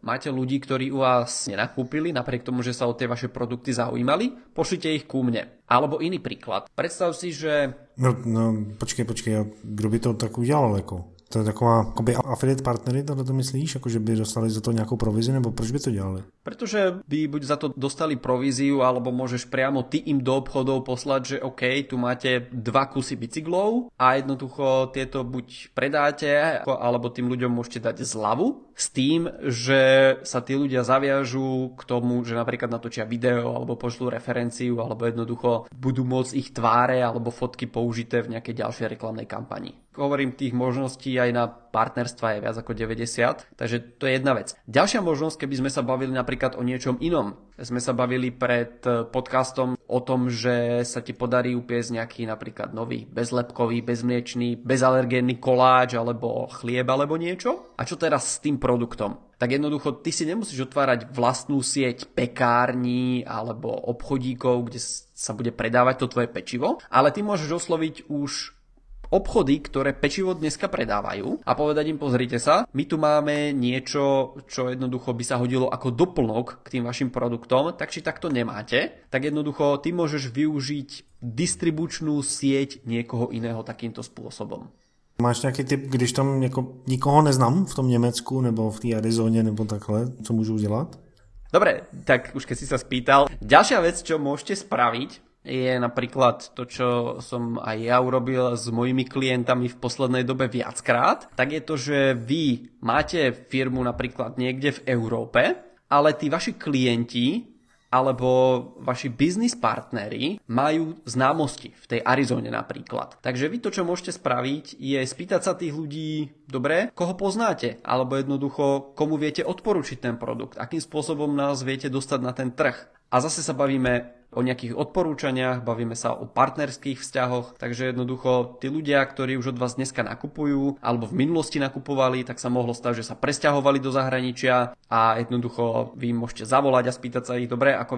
máte ľudí, ktorí u vás nenakúpili, napriek tomu, že sa o tie vaše produkty zaujímali, pošlite ich ku mne. Alebo iný príklad. Predstav si, že... No, počkej, kdo by to tak udělal, jako? To je taková akoby affiliate partnery, tohle to myslíš? Jako, že by dostali za to nějakou provizi, nebo proč by to dělali? Pretože by buď za to dostali províziu, alebo môžeš priamo ty im do obchodov poslať, že OK, tu máte 2 kusy bicyklov a jednoducho tieto buď predáte, alebo tým ľuďom môžete dať zľavu s tým, že sa tí ľudia zaviažú k tomu, že napríklad natočia video, alebo pošlú referenciu, alebo jednoducho budú môcť ich tváre alebo fotky použité v nejakej ďalšej reklamnej kampani. Hovorím, tých možností aj na partnerstva je viac ako 90, takže to je jedna vec. Ďalšia možnosť, keby sme sa bavili napríklad o niečom inom. Sme sa bavili pred podcastom o tom, že sa ti podarí upiecť nejaký napríklad nový bezlepkový, bezmliečný, bezalergénny koláč alebo chlieb alebo niečo. A čo teraz s tým produktom? Tak jednoducho ty si nemusíš otvárať vlastnú sieť pekární alebo obchodíkov, kde sa bude predávať to tvoje pečivo, ale ty môžeš osloviť už obchody, ktoré pečivo dneska predávajú a povedať im, pozrite sa, my tu máme niečo, čo jednoducho by sa hodilo ako doplnok k tým vašim produktom, tak či takto nemáte, tak jednoducho ty môžeš využiť distribučnú sieť niekoho iného takýmto spôsobom. Máš nějaký tip, když tam jako nikoho neznám v tom Německu nebo v té Arizoně nebo takhle, co můžu udělat? Dobre, tak už keď si sa spýtal, ďalšia vec, čo môžete spraviť, je napríklad to, čo som aj ja urobil s mojimi klientami v poslednej dobe viackrát, tak je to, že vy máte firmu napríklad niekde v Európe, ale tí vaši klienti alebo vaši biznis partneri majú známosti v tej Arizone napríklad. Takže vy to, čo môžete spraviť, je spýtať sa tých ľudí, dobre, koho poznáte, alebo jednoducho, komu viete odporučiť ten produkt, akým spôsobom nás viete dostať na ten trh. A zase sa bavíme o nejakých odporúčaniach, bavíme sa o partnerských vzťahoch, takže jednoducho tí ľudia, ktorí už od vás dneska nakupujú alebo v minulosti nakupovali, tak sa mohlo stať, že sa presťahovali do zahraničia a jednoducho vy môžete zavolať a spýtať sa ich, dobre, ako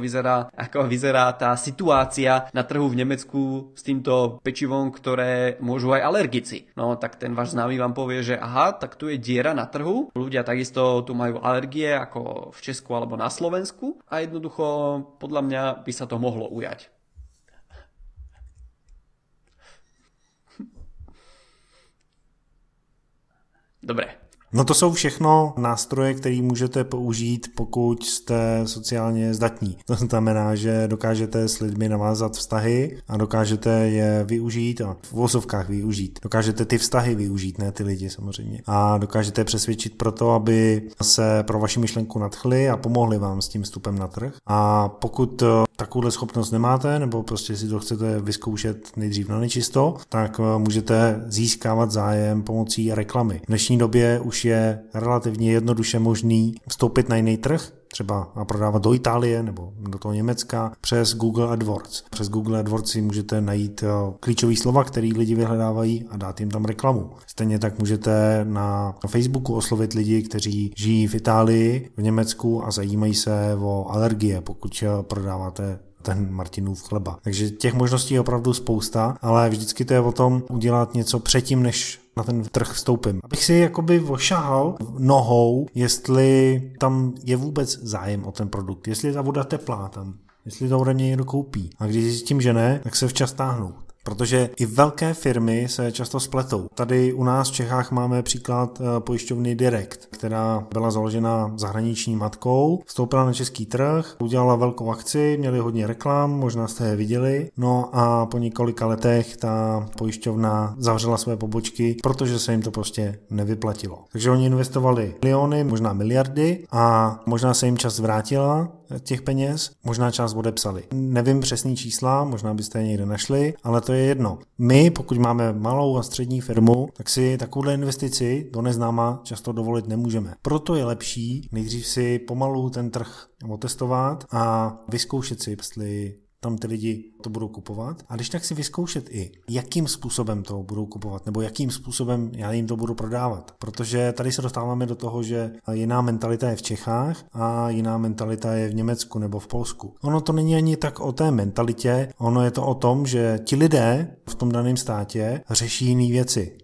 vyzerá tá situácia na trhu v Nemecku s týmto pečivom, ktoré môžu aj alergici. No tak ten váš známy vám povie, že aha, tak tu je diera na trhu, ľudia takisto tu majú alergie ako v Česku alebo na Slovensku a jednoducho podľa mňa by sa to mohlo ujať. Dobre. No to jsou všechno nástroje, které můžete použít, pokud jste sociálně zdatní. To znamená, že dokážete s lidmi navázat vztahy a dokážete je využít a v vozovkách využít. Dokážete ty vztahy využít, ne ty lidi samozřejmě. A dokážete přesvědčit pro to, aby se pro vaši myšlenku nadchli a pomohli vám s tím vstupem na trh. A pokud takovouhle schopnost nemáte, nebo prostě si to chcete vyzkoušet nejdřív na nečisto, tak můžete získávat zájem pomocí reklamy. V dnešní době už je relativně jednoduše možný vstoupit na jiný trh, třeba a prodávat do Itálie nebo do toho Německa přes Google AdWords. Přes Google AdWords si můžete najít klíčové slova, které lidi vyhledávají a dát jim tam reklamu. Stejně tak můžete na Facebooku oslovit lidi, kteří žijí v Itálii, v Německu a zajímají se o alergie, pokud prodáváte ten Martinův chleba. Takže těch možností je opravdu spousta, ale vždycky to je o tom udělat něco předtím, než na ten trh vstoupím. Abych si jakoby ošahal nohou, jestli tam je vůbec zájem o ten produkt, jestli je ta voda teplá tam, jestli to ode mě někdo koupí. A když zjistím, že ne, tak se včas táhnu. Protože i velké firmy se často spletou. Tady u nás v Čechách máme příklad pojišťovny Direct, která byla založena zahraniční matkou, vstoupila na český trh, udělala velkou akci, měli hodně reklam, možná jste je viděli, no a po několika letech ta pojišťovna zavřela své pobočky, protože se jim to prostě nevyplatilo. Takže oni investovali miliony, možná miliardy a možná se jim čas vrátila těch peněz, možná část odepsali. Nevím přesný čísla, možná byste je někde našli, ale to je jedno. My, pokud máme malou a střední firmu, tak si takovouhle investici do neznáma často dovolit nemůžeme. Proto je lepší nejdřív si pomalu ten trh otestovat a vyzkoušet si, jestli tam ty lidi to budou kupovat. A když tak si vyzkoušet i, jakým způsobem to budou kupovat, nebo jakým způsobem já jim to budu prodávat. Protože tady se dostáváme do toho, že jiná mentalita je v Čechách a jiná mentalita je v Německu nebo v Polsku. Ono to není ani tak o té mentalitě, ono je to o tom, že ti lidé v tom daném státě řeší jiné věci.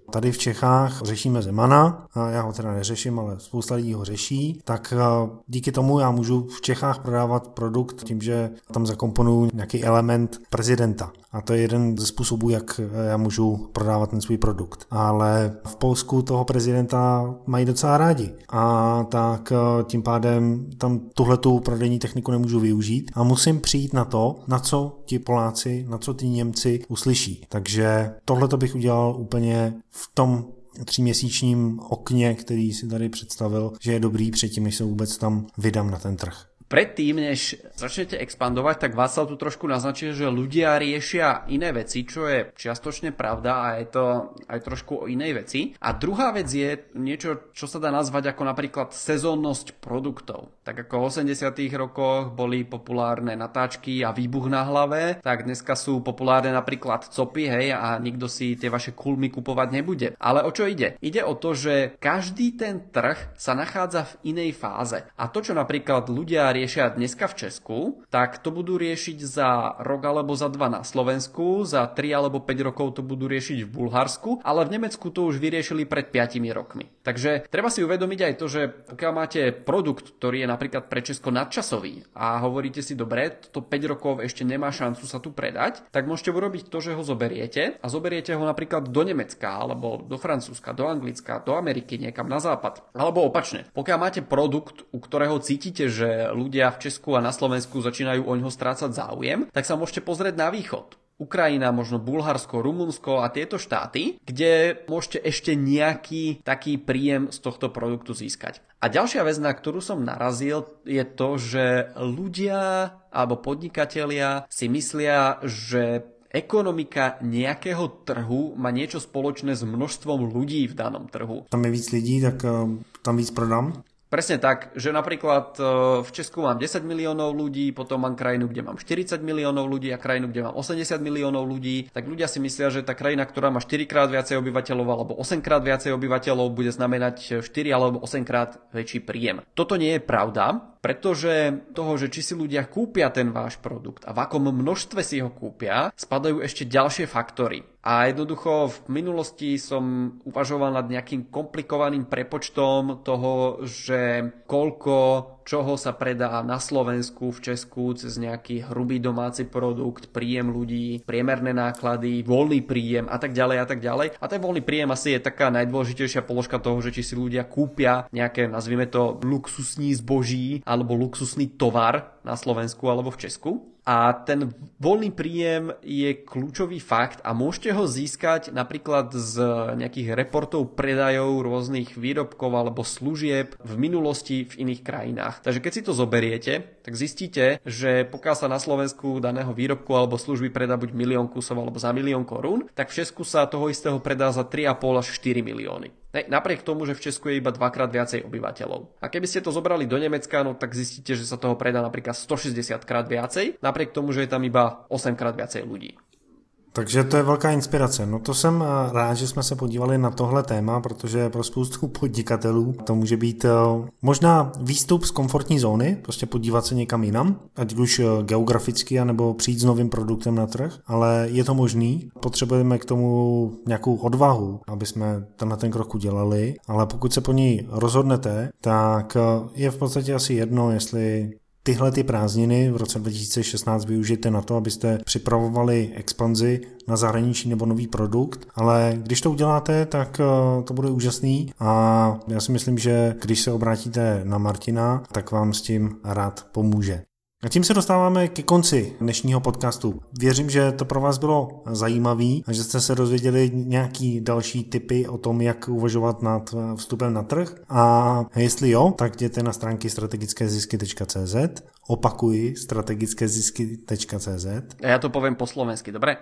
tady v Čechách řešíme Zemana, já ho teda neřeším, ale spousta lidí ho řeší, tak díky tomu já můžu v Čechách prodávat produkt tím, že tam zakomponuju nějaký element prezidenta. A to je jeden ze způsobů, jak já můžu prodávat ten svůj produkt. Ale v Polsku toho prezidenta mají docela rádi. A tak tím pádem tam tuhletu prodejní techniku nemůžu využít a musím přijít na to, na co ti Poláci, na co ty Němci uslyší. Takže tohleto bych udělal úplně v tom 3měsíčním okně, který si tady představil, že je dobrý předtím, než se vůbec tam vydám na ten trh. Predtým, než začnete expandovať, tak Václav tu trošku naznačil, že ľudia riešia iné veci, čo je čiastočne pravda a je to aj trošku o inej veci. A druhá vec je niečo, čo sa dá nazvať ako napríklad sezónnosť produktov. Tak ako v 80. rokoch boli populárne natáčky a výbuch na hlave, tak dneska sú populárne napríklad copy, hej, a nikto si tie vaše kulmy kupovať nebude. Ale o čo ide? Ide o to, že každý ten trh sa nachádza v inej fáze. A to, čo napríklad ľudia riešia dneska v Česku, tak to budú riešiť za rok alebo za 2 na Slovensku, za 3 alebo 5 rokov to budú riešiť v Bulharsku, ale v Nemecku to už vyriešili pred 5 rokmi. Takže treba si uvedomiť aj to, že pokiaľ máte produkt, ktorý je napríklad pre Česko nadčasový a hovoríte si, dobre, to 5 rokov ešte nemá šancu sa tu predať, tak môžete urobiť to, že ho zoberiete a zoberiete ho napríklad do Nemecka alebo do Francúzska, do Anglicka, do Ameriky, niekam na západ. Alebo opačne. Pokiaľ máte produkt, u ktorého cítite, že ľudia v Česku a na Slovensku začínajú oňho strácať záujem, tak sa môžete pozrieť na východ. Ukrajina, možno Bulharsko, Rumunsko a tieto štáty, kde môžete ešte nejaký taký príjem z tohto produktu získať. A ďalšia vec, na ktorú som narazil, je to, že ľudia alebo podnikatelia si myslia, že ekonomika nejakého trhu má niečo spoločné s množstvom ľudí v danom trhu. Tam je víc lidí, tak tam víc prodám? Presne tak, že napríklad v Česku mám 10 miliónov ľudí, potom mám krajinu, kde mám 40 miliónov ľudí a krajinu, kde mám 80 miliónov ľudí, tak ľudia si myslia, že tá krajina, ktorá má 4 krát viacej obyvateľov alebo 8 krát viacej obyvateľov, bude znamenať 4 alebo 8 krát väčší príjem. Toto nie je pravda, pretože toho, že či si ľudia kúpia ten váš produkt a v akom množstve si ho kúpia, spadajú ešte ďalšie faktory. A jednoducho v minulosti som uvažoval nad nejakým komplikovaným prepočtom toho, že koľko čoho sa predá na Slovensku, v Česku cez nejaký hrubý domáci produkt, príjem ľudí, priemerné náklady, voľný príjem a tak ďalej a tak ďalej. A ten voľný príjem asi je taká najdôležitejšia položka toho, že či si ľudia kúpia nejaké, nazvime to, luxusní zboží alebo luxusný tovar na Slovensku alebo v Česku. A ten voľný príjem je kľúčový fakt a môžete ho získať napríklad z nejakých reportov predajov rôznych výrobkov alebo služieb v minulosti v iných krajinách. Takže keď si to zoberiete, tak zistíte, že pokiaľ sa na Slovensku daného výrobku alebo služby predá buď 1 000 000 kusov alebo za 1 000 000 korún, tak v Česku sa toho istého predá za 3,5 až 4 milióny. Napriek tomu, že v Česku je iba 2-krát viacej obyvateľov. A keby ste to zobrali do Nemecka, no tak zistíte, že sa toho predá napríklad 160 krát viacej, napriek tomu, že je tam iba 8 krát viacej ľudí. Takže to je velká inspirace. No to jsem rád, že jsme se podívali na tohle téma, protože pro spoustu podnikatelů to může být možná výstup z komfortní zóny, prostě podívat se někam jinam, ať už geograficky, anebo přijít s novým produktem na trh, ale je to možný. Potřebujeme k tomu nějakou odvahu, aby jsme tenhle ten krok udělali, ale pokud se po ní rozhodnete, tak je v podstatě asi jedno, jestli tyhle ty prázdniny v roce 2016 využijete na to, abyste připravovali expanzi na zahraničí nebo nový produkt, ale když to uděláte, tak to bude úžasný a já si myslím, že když se obrátíte na Martina, tak vám s tím rád pomůže. A tím se dostáváme ke konci dnešního podcastu. Věřím, že to pro vás bylo zajímavý a že jste se dozvěděli nějaký další tipy o tom, jak uvažovat nad vstupem na trh. A jestli jo, tak jděte na stránky strategickézisky.cz. Opakuji, strategickézisky.cz. A ja to poviem po slovensky, dobre?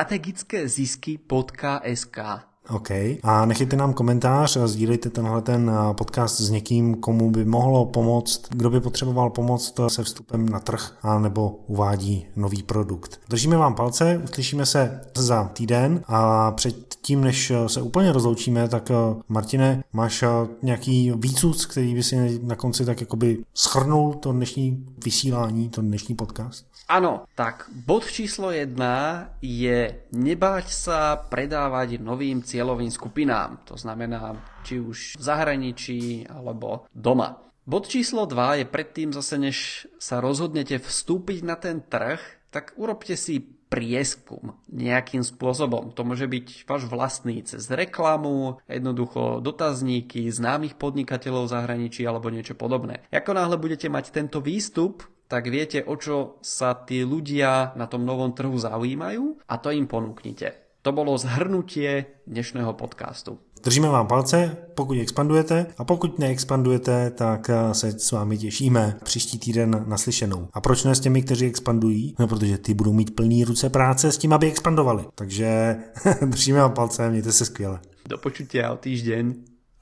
strategickézisky.sk. OK. A nechejte nám komentář a sdílejte tenhle ten podcast s někým, komu by mohlo pomoct, kdo by potřeboval pomoct se vstupem na trh a nebo uvádí nový produkt. Držíme vám palce, uslyšíme se za týden a předtím, než se úplně rozloučíme, tak Martine, máš nějaký výcud, který by si na konci tak jakoby shrnul to dnešní vysílání, to dnešní podcast? Áno, tak bod číslo 1 je nebáť sa predávať novým cieľovým cieľovým skupinám. To znamená, či už v zahraničí alebo doma. Bod číslo 2 je predtým zase, než sa rozhodnete vstúpiť na ten trh, tak urobte si prieskum nejakým spôsobom. To môže byť váš vlastný cez reklamu, jednoducho dotazníky známych podnikateľov v zahraničí alebo niečo podobné. Ako náhle budete mať tento výstup, tak viete, o čo sa tí ľudia na tom novom trhu zaujímajú a to im ponúknite. To bolo zhrnutie dnešného podcastu. Držíme vám palce, pokud expandujete, a pokud neexpandujete, tak se s vámi těšíme příští týden naslyšenou. A proč ne s těmi, kteří expandují? No, protože ty budou mít plný ruce práce s tím, aby expandovali. Takže držíme vám palce, mějte se skvěle. Do počutia o týždeň.